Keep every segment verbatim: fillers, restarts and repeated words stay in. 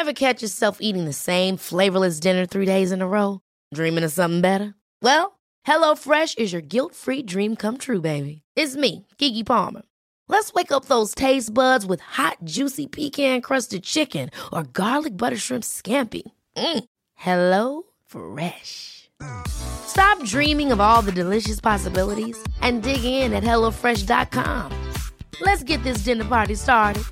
Ever catch yourself eating the same flavorless dinner three days in a row? Dreaming of something better? Well, HelloFresh is your guilt-free dream come true, baby. It's me, Keke Palmer. Let's wake up those taste buds with hot, juicy pecan-crusted chicken or garlic butter shrimp scampi. Mm. Hello Fresh. Stop dreaming of all the delicious possibilities and dig in at hello fresh dot com. Let's get this dinner party started.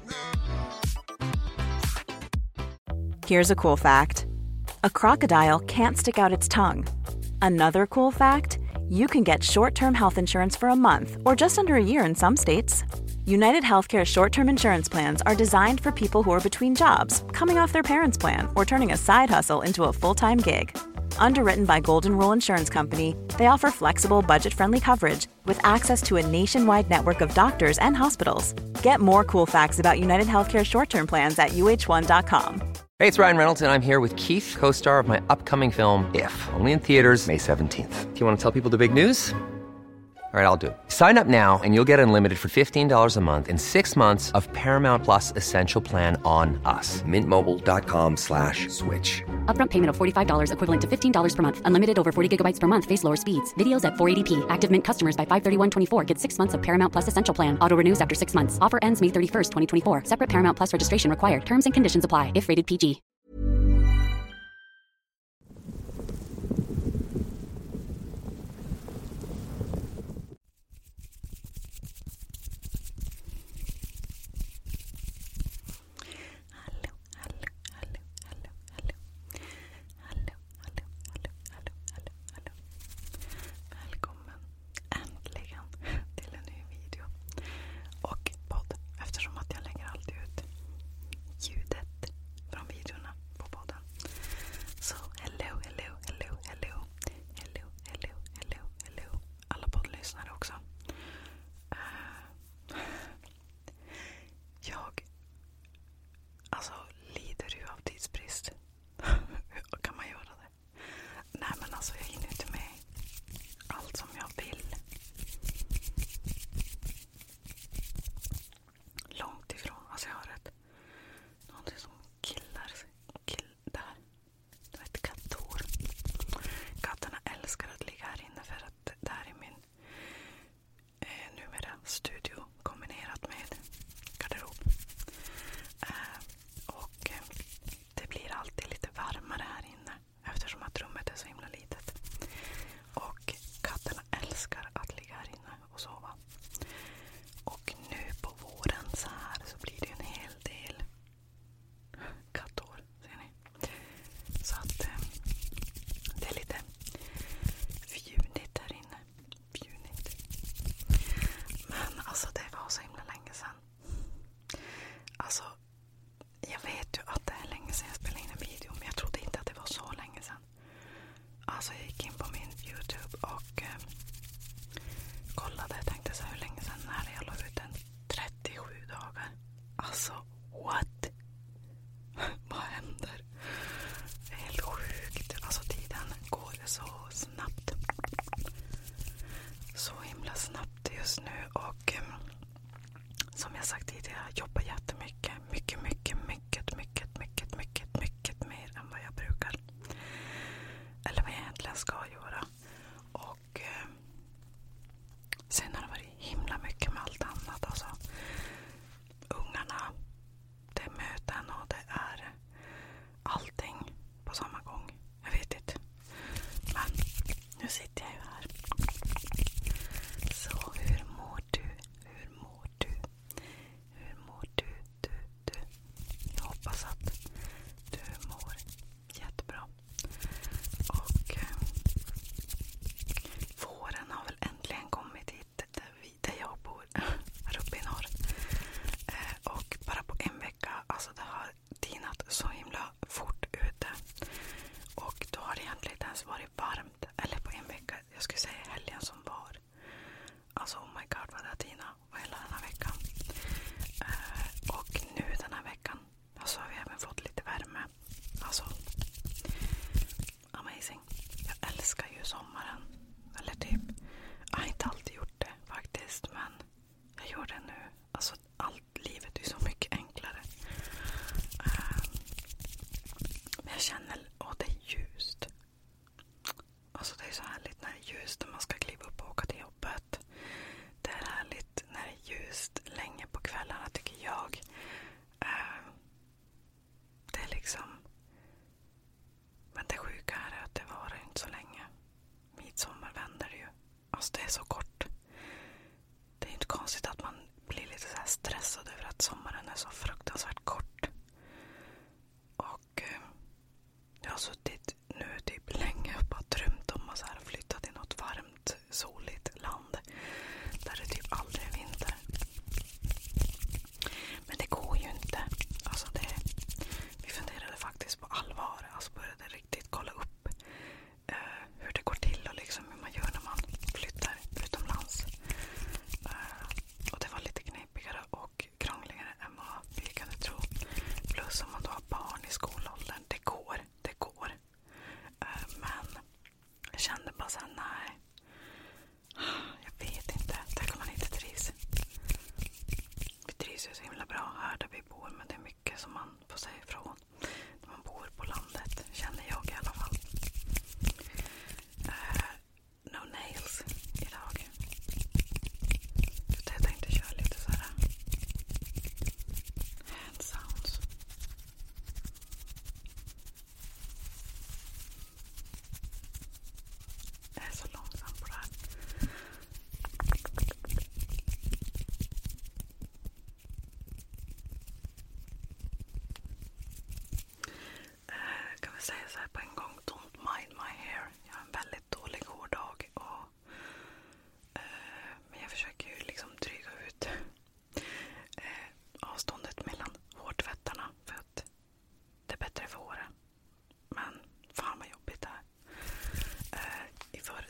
Here's a cool fact. A crocodile can't stick out its tongue. Another cool fact, you can get short-term health insurance for a month or just under a year in some states. United Healthcare short-term insurance plans are designed for people who are between jobs, coming off their parents' plan, or turning a side hustle into a full-time gig. Underwritten by Golden Rule Insurance Company, they offer flexible, budget-friendly coverage with access to a nationwide network of doctors and hospitals. Get more cool facts about United Healthcare short-term plans at U H one dot com. Hey, it's Ryan Reynolds, and I'm here with Keith, co-star of my upcoming film, If, only in theaters May seventeenth. Do you want to tell people the big news? All right, I'll do it. Sign up now and you'll get unlimited for fifteen dollars a month and six months of Paramount Plus Essential Plan on us. Mint Mobile dot com slash switch. Upfront payment of forty-five dollars equivalent to fifteen dollars per month. Unlimited over forty gigabytes per month. Face lower speeds. Videos at four eighty p. Active Mint customers by five thirty-one twenty-four get six months of Paramount Plus Essential Plan. Auto renews after six months. Offer ends May thirty-first, twenty twenty-four. Separate Paramount Plus registration required. Terms and conditions apply if rated P G.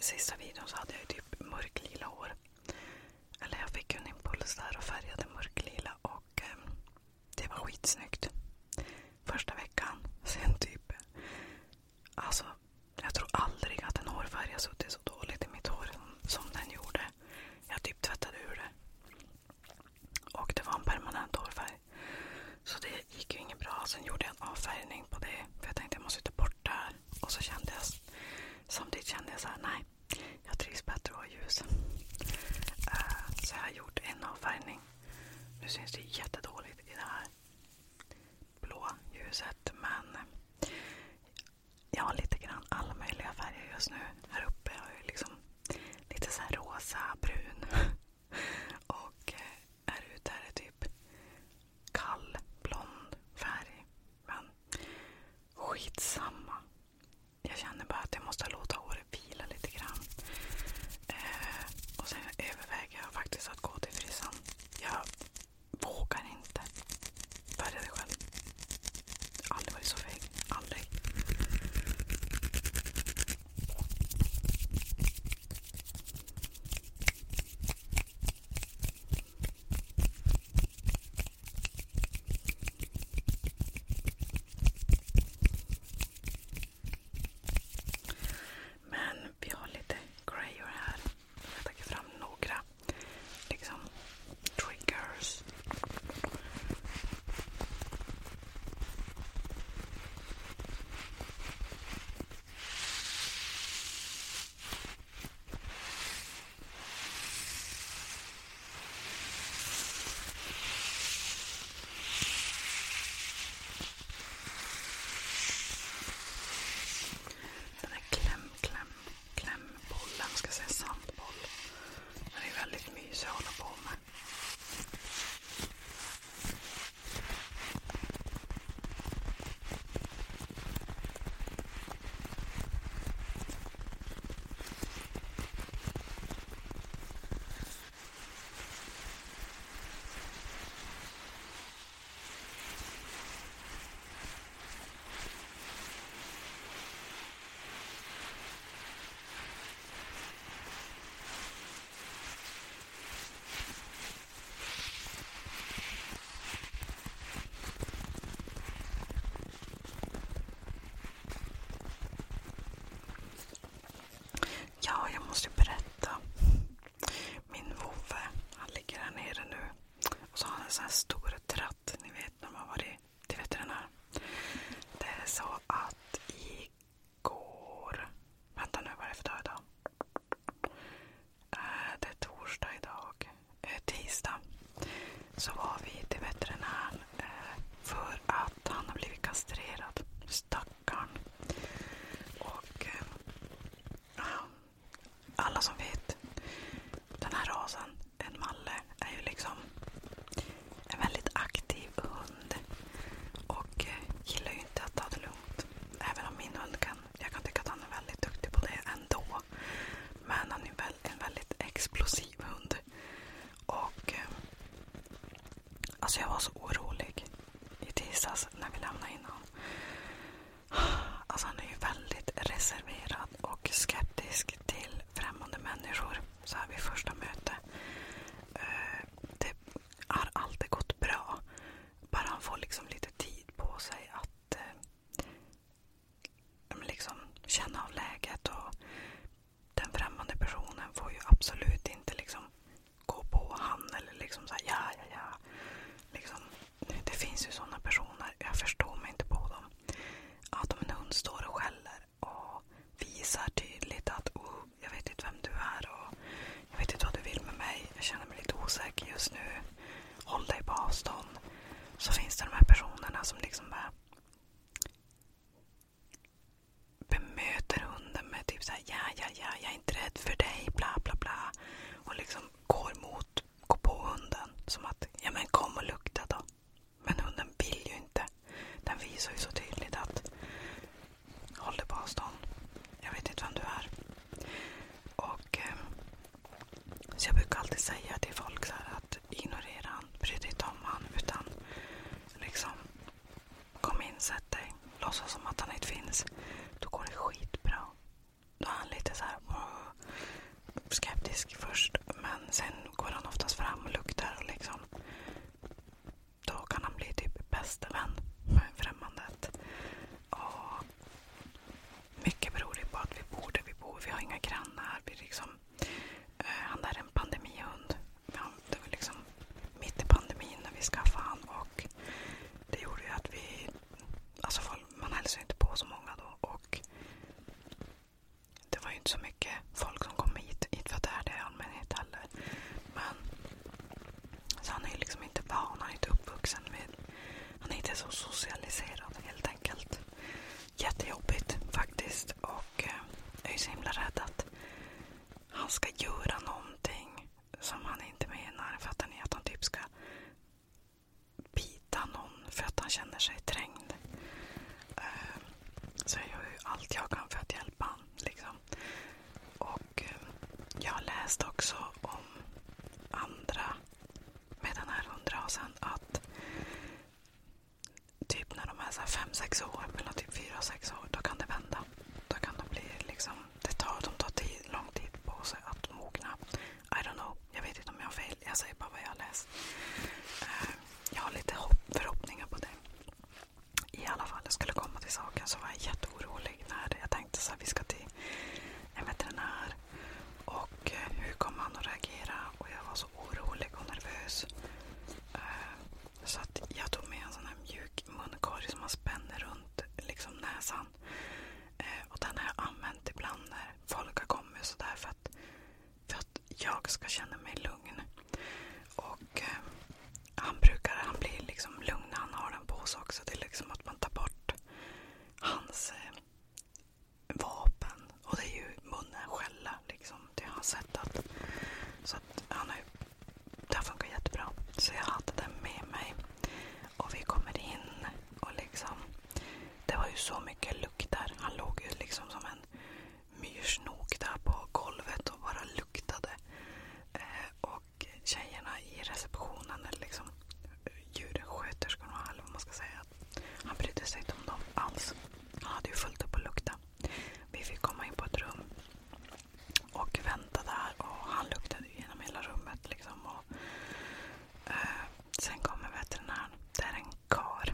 sista videon så hade jag ju typ mörklila hår. Eller jag fick en impuls där och färgade mörklila och eh, det var skitsnyggt. Första veckan, sen typ, alltså jag tror aldrig att en hårfärg har suttit så dåligt i mitt hår som, som den gjorde. Jag typ tvättade ur det. Och det var en permanent hårfärg. Så det gick ju inget bra. Sen gjorde jag en avfärgning på det. För jag tänkte jag måste ta bort det här. Och så kände jag, samtidigt kände jag så här, nej, jag trivs bättre att ha ljus. Uh, så jag har gjort en avfärgning. Nu syns det jättedåligt i det här blå ljuset. Men jag har lite grann alla möjliga färger just nu. Här uppe har jag liksom lite så här rosa, brun. Och här ute är det typ kall, blond färg. Men skitsamma. Jag känner bara att jag måste låta håret vila lite grann. Eh, och sen överväger jag faktiskt att gå till frissan. Jag vågar inte färga det själv. Aldrig varit så feg. Aldrig. Men vi har lite grejer här. Jag tar fram några liksom triggers. Den här kläm, kläm, klämbollen, ska jag säga sandboll. Den är väldigt mysig att hålla på med. Ja, jag måste berätta. Min vovve, han ligger här nere nu. Och så har han en sån här stor tratt. Ni vet när man varit till veterinär. Det är så att igår... Vänta nu, vad är det för dag idag? Äh, det är torsdag idag. Äh, tisdag. Så var vi till veterinären äh, för att han har blivit kastrerad. Stackarn. Och... Äh, alla som vet, den här rasen, en malle, är ju liksom en väldigt aktiv hund och gillar ju inte att ta det lugnt. Även om min hund kan, jag kan tycka att han är väldigt duktig på det ändå. Men han är väl en väldigt explosiv hund. Och alltså jag var så orolig i tisdags när vi lämnade in honom. Alltså han är ju väldigt reserverad och skeptisk till främmande människor så här vid första möte. Det har alltid gått bra. Bara han får liksom lite tid på sig att liksom känna av läget, och den främmande personen får ju absolut inte liksom gå på han eller liksom så här, ja, ja, ja. Liksom, det finns ju sådana personer, jag förstår mig inte på dem. Att om en hund står och skäller och visar tydligt att oh, jag vet inte vem du är och jag vet inte vad du vill med mig, jag känner mig lite osäker just nu, håll dig på avstånd. Så finns det de här personerna som liksom bara bemöter hunden med typ så här, ja, ja, ja, jag är inte rädd för dig, bla, bla, bla. Och liksom går mot, går på hunden som att, ja men kom och lukta då. Men hunden vill ju inte. Den visar ju så tydligt att håll dig på avstånd. Jag vet inte vem du är. Och eh, så jag brukar alltid säga till folk så här att ignorera han, bry dig inte om han, utan liksom kom in, sätt dig, låtsas som att han inte finns. Då går det skitbra. Då är han lite så här, skeptisk först, men sen går han oftast fram och luktar och liksom då kan han bli typ bästa vän med främmandet. Och mycket beror det på att vi bor där vi bor. Vi har inga grannar. Vi liksom, eh, han där är en pandemihund. Ja, det var liksom mitt i pandemin när vi skaffade han, och det gjorde ju att vi, alltså man hälsade inte på så många då, och det var ju inte så mycket folk som kom hit, hit för att det är det i allmänhet heller. Men så han är ju liksom inte van, han är inte uppvuxen med, han är inte så socialiserad helt enkelt. Jättejobbigt faktiskt, och eh, jag är ju så himla rädd att han ska göra någonting som han inte menar, för att han är att han typ ska bita någon för att han känner sig trängd. Eh, så jag gör ju allt jag kan för att hjälpa han liksom. Och eh, jag har läst också om andra med den här hundrasen att typ när de är så här fem sex år, mellan typ fyra och sex år, då kan det vända. Då kan det bli liksom, det tar, de tar tid, lång tid på sig att mogna. I don't know, jag vet inte om jag har fel, jag säger bara vad jag har läst. Uh, jag har lite hopp, förhoppningar på det. I alla fall, jag skulle komma till saken, så var jag jätteorolig när jag tänkte så här, vi ska till en veterinär. Och uh, hur kommer han att reagera? Och jag var så orolig och nervös. Uh, så att jag tog med en sån här mjuk munkorg som man spänner runt liksom näsan. Uh, och den har jag använt ibland när folk har kommit så där, för att, för att jag ska känna mig lugn. Och uh, han brukar, han blir liksom lugn när han har den på sig också. Det är liksom att man tar bort hans uh, vapen. Och det är ju munnen skälla liksom. Det har han sett att, så att han är, det har funkat jättebra. Så jag hade den med mig. Och vi kommer in och liksom, det var ju så mycket lukt där. Han låg ju liksom som en myrsnok där på golvet och bara luktade. Eh, och tjejerna i receptionen, eller liksom djursköterskorna, eller vad man ska säga, han brydde sig inte om dem alls. Han hade ju fullt upp att lukta. Vi fick komma in på ett rum och vänta där, och han luktade genom hela rummet liksom. Och eh, sen kommer veterinären. Det är en kar.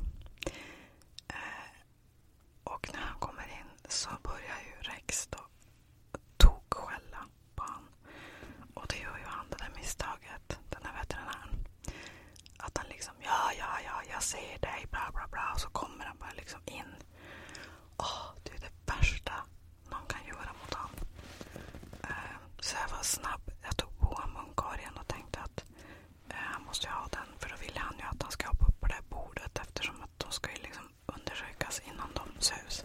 Eh, och när han kommer in så börjar ju Rex då tokskälla på han. Och det gör ju han det där misstaget, den här veterinären. Att han liksom, ja, ja, ja, jag ser dig, bla, bla, bla. Och så kommer han bara liksom in. Åh, det är det värsta någon kan göra mot han. Eh, så jag var snabb. Jag tog på munkorgen och tänkte att eh, han måste ju ha den. För då ville han ju att han ska hoppa upp på det här bordet, eftersom att de ska ju liksom undersökas innan de sövs.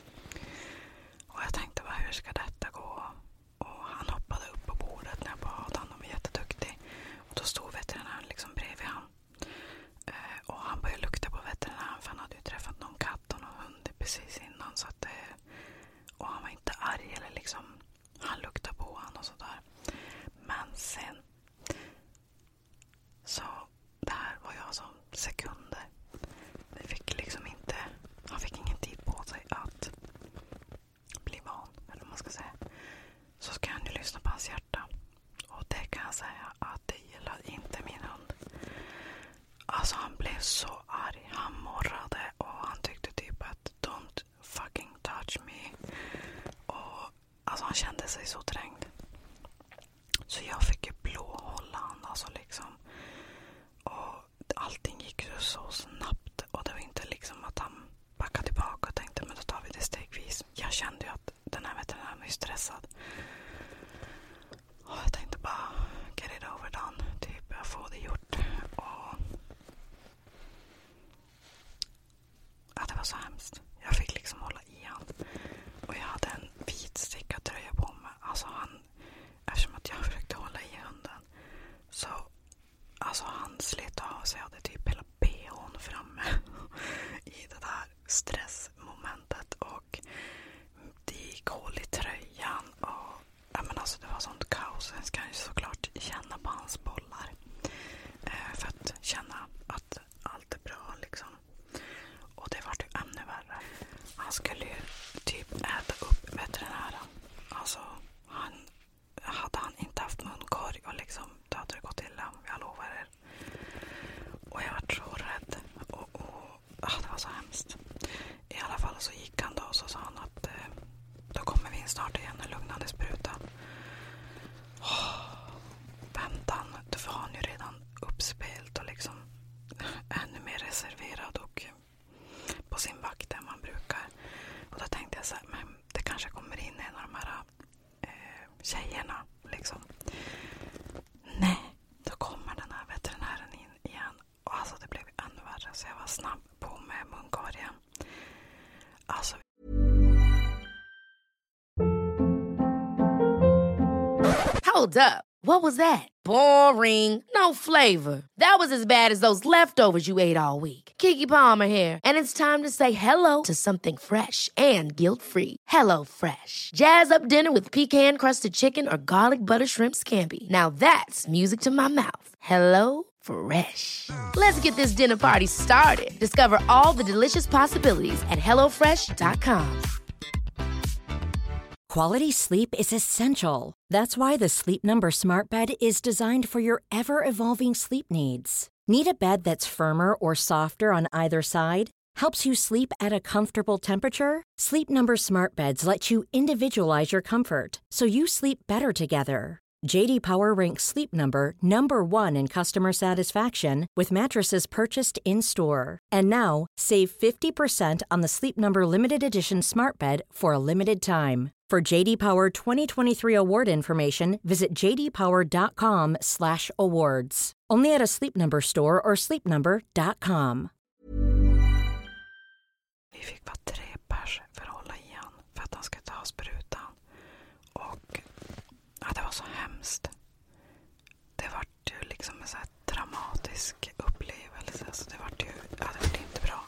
Och jag tänkte, vad, hur ska detta gå? Och han hoppade upp på bordet när jag bara hade han. De var jätteduktig. Och då stod veterinären liksom bredvid han. Eh, och han började lukta på veterinären, för han hade ju träffat någon katt och någon hund precis innan. Så att, eh, och han var inte arg eller liksom, han luktade på han och sådär. Men sen så, det här var ju alltså sekunder. Det fick liksom inte, han fick ingen tid på sig att bli van, eller vad man ska säga. Så ska han ju lyssna på hans hjärta. Och det kan jag säga att det gillar inte min hund. Alltså han blev så arg. Han morrade och han tyckte typ att don't fucking touch me. Och alltså han kände sig så trängd. Så jag fick ju blåhålla han alltså liksom. Och allting gick ju så snabbt. Och det var inte liksom att han backade tillbaka och tänkte, men då tar vi det stegvis. Jag kände ju att den här veterinären var ju stressad. Och jag tänkte bara, get it over done. Typ, jag får det gjort. Och ja, det var så hemskt. Jag fick liksom hålla i han. Och jag hade en vit stickad tröja på mig. Alltså han, eftersom att jag försökte hålla i hunden, så alltså han slet av sig. Jag hade typ hela B H:n framme i det där stressmomentet. Och det gick hål i tröjan. Och ja, men alltså det var sånt kaos. Sen ska jag ju såklart känna på hans bollar. Eh, för att känna att allt är bra liksom. Och det var ju ännu värre. Han skulle ju typ äta upp veterinären. Alltså han hade han inte jag så här, men det kanske kommer in en av de här eh, tjejerna liksom. Nej, då kommer den här veterinären in igen. Och alltså det blev ännu värre, så jag var snabb på med munkorgen. Alltså. Hold up. What was that? Boring. No flavor. That was as bad as those leftovers you ate all week. Keke Palmer here, and it's time to say hello to something fresh and guilt-free. Hello Fresh. Jazz up dinner with pecan-crusted chicken or garlic butter shrimp scampi. Now that's music to my mouth. Hello Fresh. Let's get this dinner party started. Discover all the delicious possibilities at hello fresh dot com. Quality sleep is essential. That's why the Sleep Number Smart Bed is designed for your ever-evolving sleep needs. Need a bed that's firmer or softer on either side? Helps you sleep at a comfortable temperature? Sleep Number Smart Beds let you individualize your comfort, so you sleep better together. J D Power ranks Sleep Number number one in customer satisfaction with mattresses purchased in-store. And now, save fifty percent on the Sleep Number Limited Edition Smart Bed for a limited time. For J D Power twenty twenty-three award information, visit j d power dot com slash awards. Only at a Sleep Number store or sleep number dot com. Vi fick vara tre pers för att hålla igen, för att han ska ta sprutan. Och ja, det var så hemskt. Det var ju liksom en så här dramatisk upplevelse. Så det var ju, ja, det var inte bra.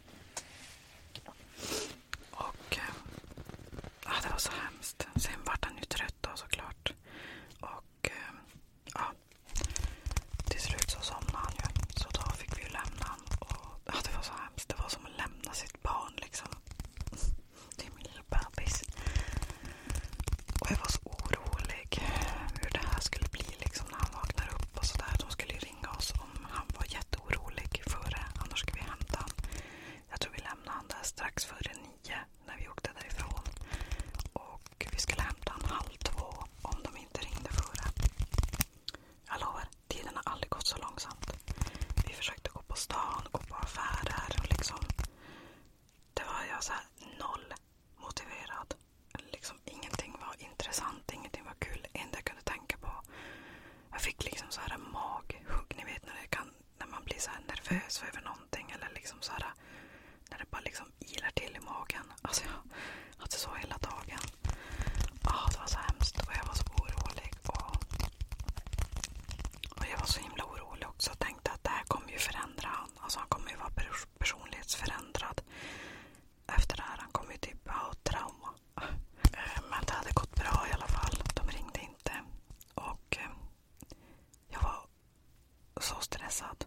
Och ja, det var så hemskt. Sen var han ju trött då, såklart. Och ja, till slut så somnade han ju. Så då fick vi ju lämna han. Och ja, det var så hemskt. Det var som att lämna sitt barn liksom. Det är min lilla bebis. Och jag var så orolig hur det här skulle bli liksom när han vaknar upp och sådär. De skulle ju ringa oss om han var jätteorolig före. Annars skulle vi hämta han. Jag tror vi lämnade han där strax före nio när vi åkte därifrån. Och vi skulle hämta han halv två om de inte ringde före. Jag lovar, tiden har aldrig gått så långsamt. Vi försökte gå på stan, gå på affärer och liksom. Det var jag så här noll motiverad. Liksom ingenting var intressant, ingenting var kul. Det enda jag kunde tänka på. Jag fick liksom så här en maghugg, ni vet när det kan, när man blir så här nervös över någonting eller liksom så här när det bara liksom ilar till i magen. Alltså jag hade så hela dagen. Ja, det var så hemskt och jag var så orolig och, och jag var så himla orolig också. Jag tänkte att det här kommer ju förändra han. Alltså han kommer ju vara pers- personlighetsförändrad efter det här. Han kommer ju typ ha trauma. Men det hade gått bra i alla fall. De ringde inte. Och jag var så stressad.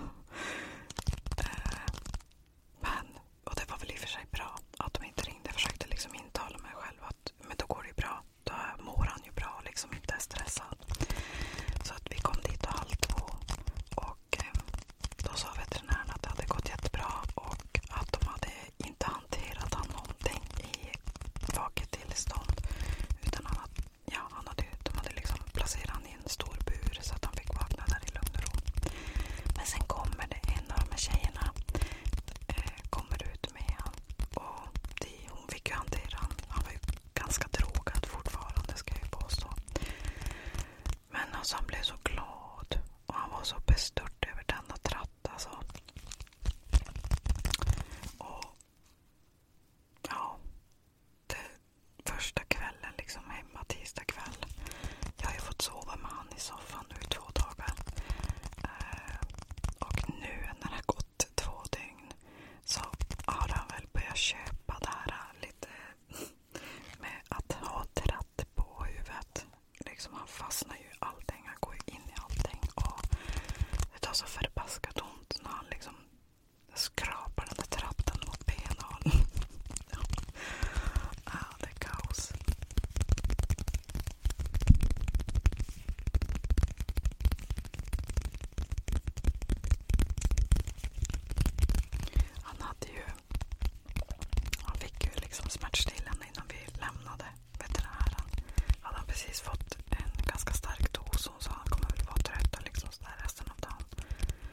Men, och det var väl i och för sig bra att de inte ringde. Jag försökte liksom intala mig själv att men då går det ju bra. Då mår han ju bra och liksom inte är stressad. Så att vi kom dit och halv två. Och då sa veterinären att det hade gått jättebra. Och att de hade inte hanterat han någonting i vaket tillstånd. Utan han hade, ja, han hade, de hade liksom placerat han i en stor bur så att han fick vakna där i lugn och ro. Men sen kommer det en av de här tjejerna eh, kommer ut med han. Och det, hon fick ju hantera han. Han var ju ganska drogad fortfarande, ska jag ju påstå. Men alltså han blev så glad. Och han var så bestört över denna tratt alltså. Och ja, det första kvällen liksom hemma, tisdag kväll. Jag har ju fått sova med han i soffan nu i två dagar. Eh, och nu när det har gått två dygn så har han väl börjat köpa det här lite med att ha tratt på huvudet. Liksom han fastnar ju i allting, han går ju in i allting och det tar så förbaskat ont när han liksom skrapar den där tratten mot benen. Ja. Ah, det är kaos. Han hade ju han fick ju liksom smärtstillande innan vi lämnade veterinären. Hade han precis fått en ganska stark dos och så han kommer väl vara trött och liksom så där resten av dagen.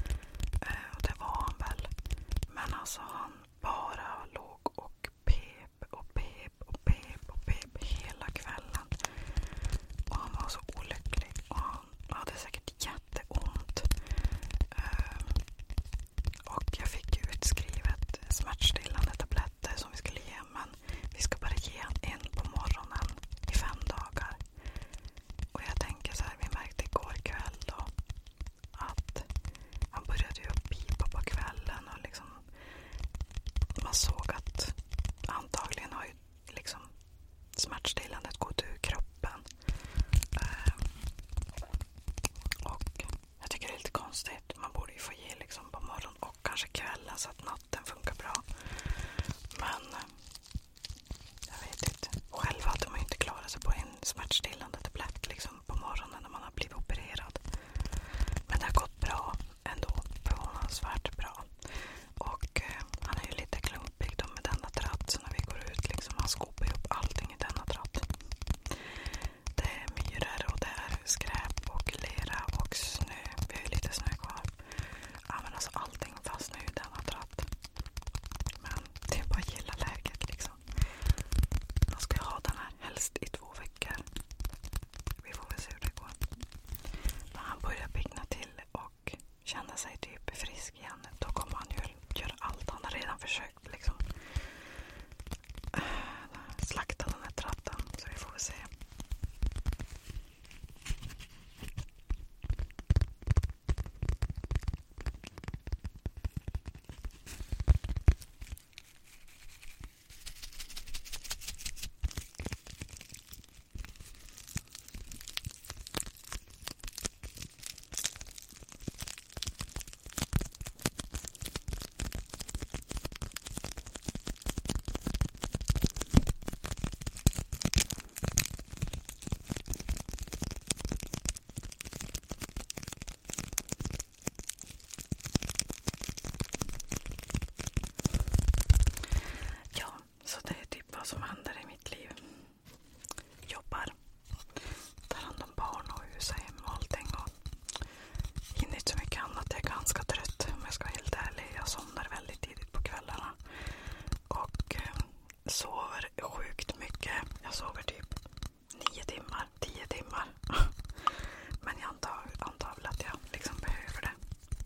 sover sjukt mycket. Jag sover typ nio timmar, tio timmar. Men jag antar, antar väl att jag liksom behöver det.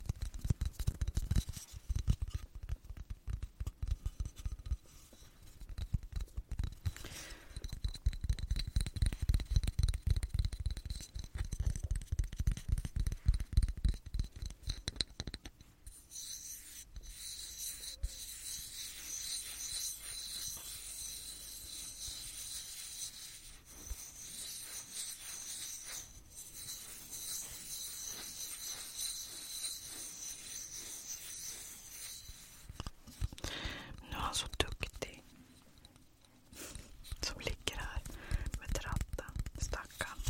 Nu är han så duktig. Som ligger här med ratten. Stackarn.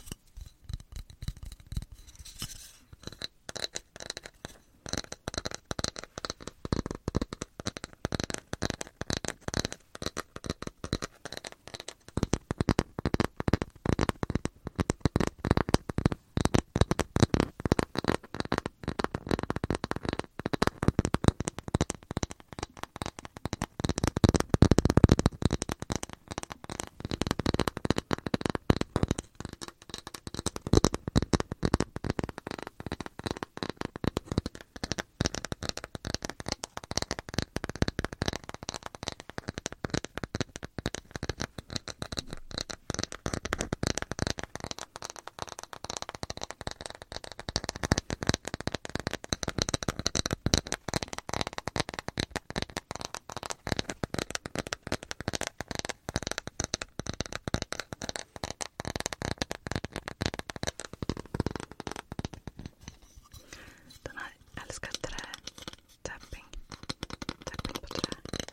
Älskar trä. Tapping. Tapping på trä.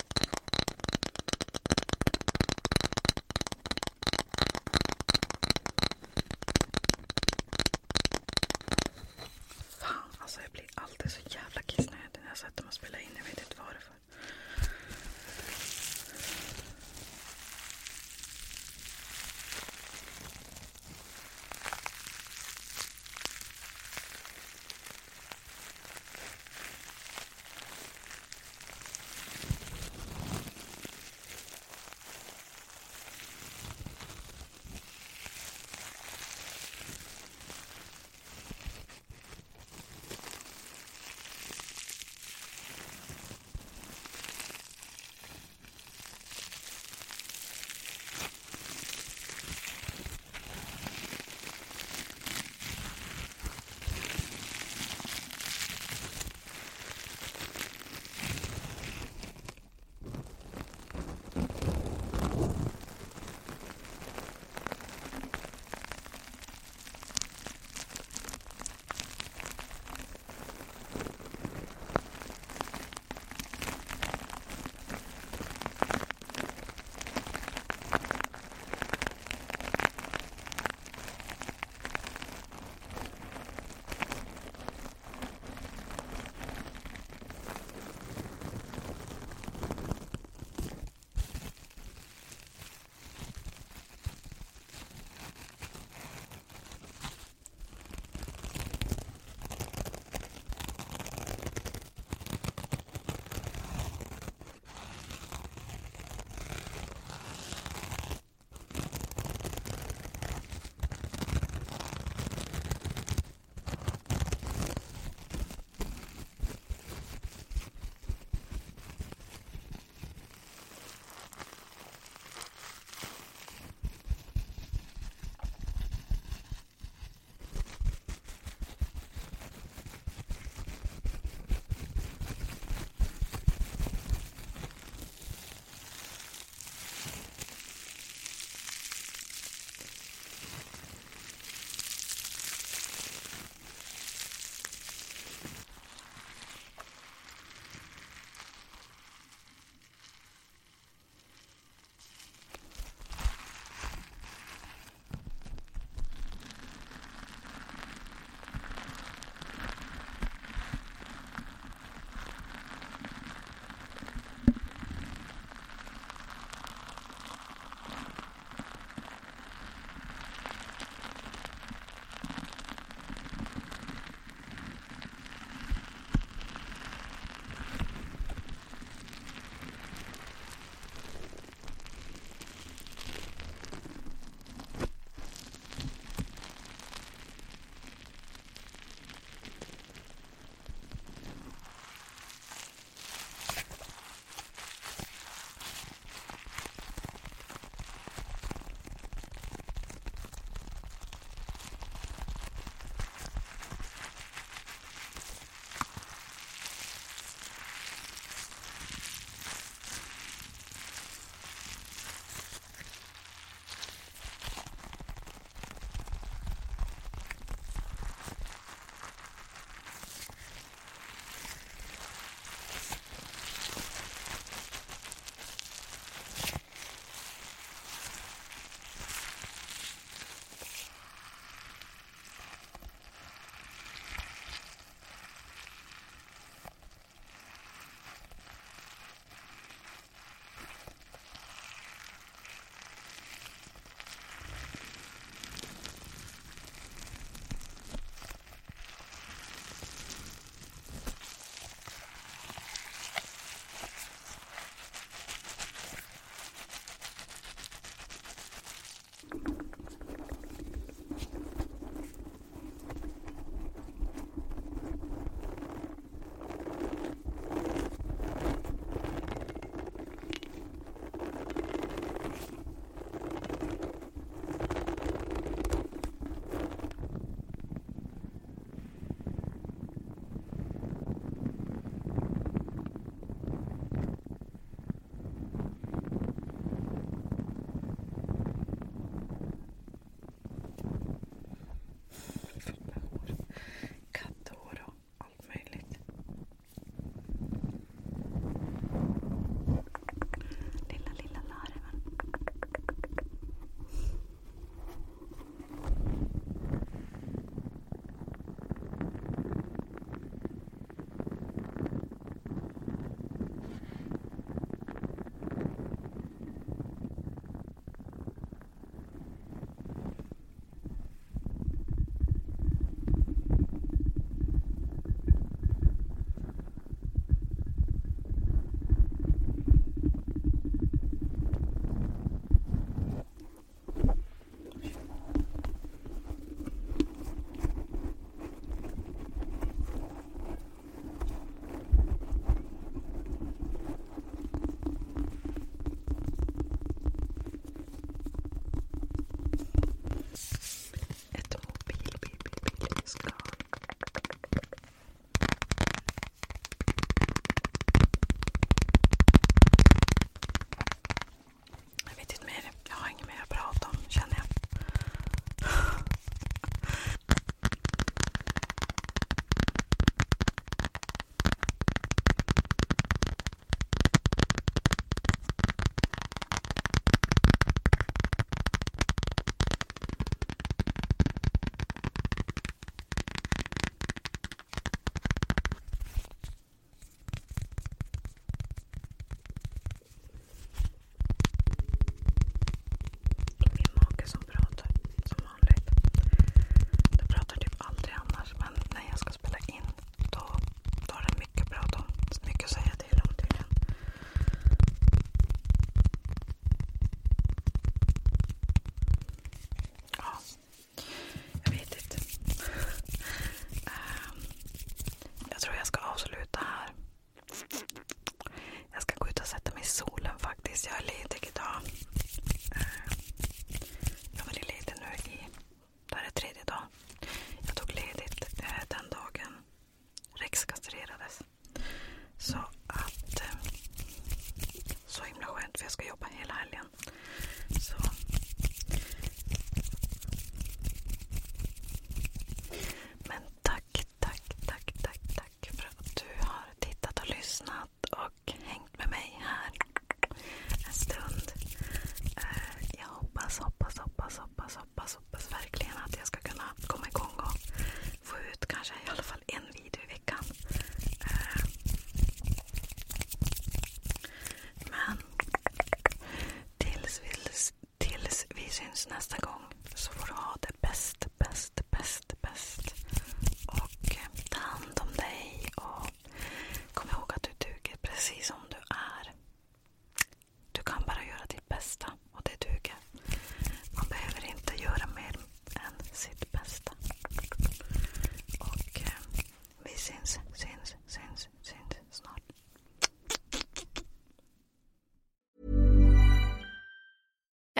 Fan, alltså jag blir alltid så jävla kissnödig när jag sätter mig och spelar in. Jag vet inte varför.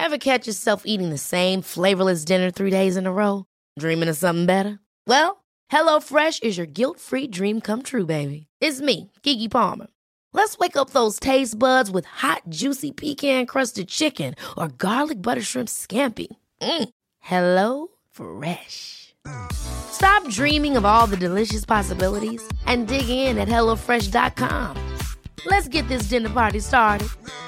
Ever catch yourself eating the same flavorless dinner three days in a row? Dreaming of something better? Well, HelloFresh is your guilt-free dream come true, baby. It's me, Keke Palmer. Let's wake up those taste buds with hot, juicy pecan-crusted chicken or garlic butter shrimp scampi. Mm. Hello Fresh. Stop dreaming of all the delicious possibilities and dig in at hello fresh dot com. Let's get this dinner party started.